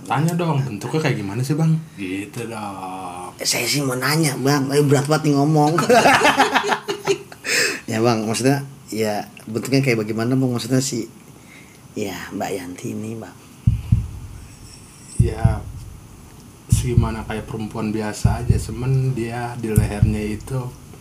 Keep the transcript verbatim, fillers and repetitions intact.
tanya dong bentuknya kayak gimana sih bang? Gitu dong. Saya sih mau nanya bang, tapi berat banget nih ngomong. Ya bang, maksudnya ya bentuknya kayak bagaimana bang, maksudnya si ya Mbak Yanti ini bang. Ya segimana kayak perempuan biasa aja, cuman dia di lehernya itu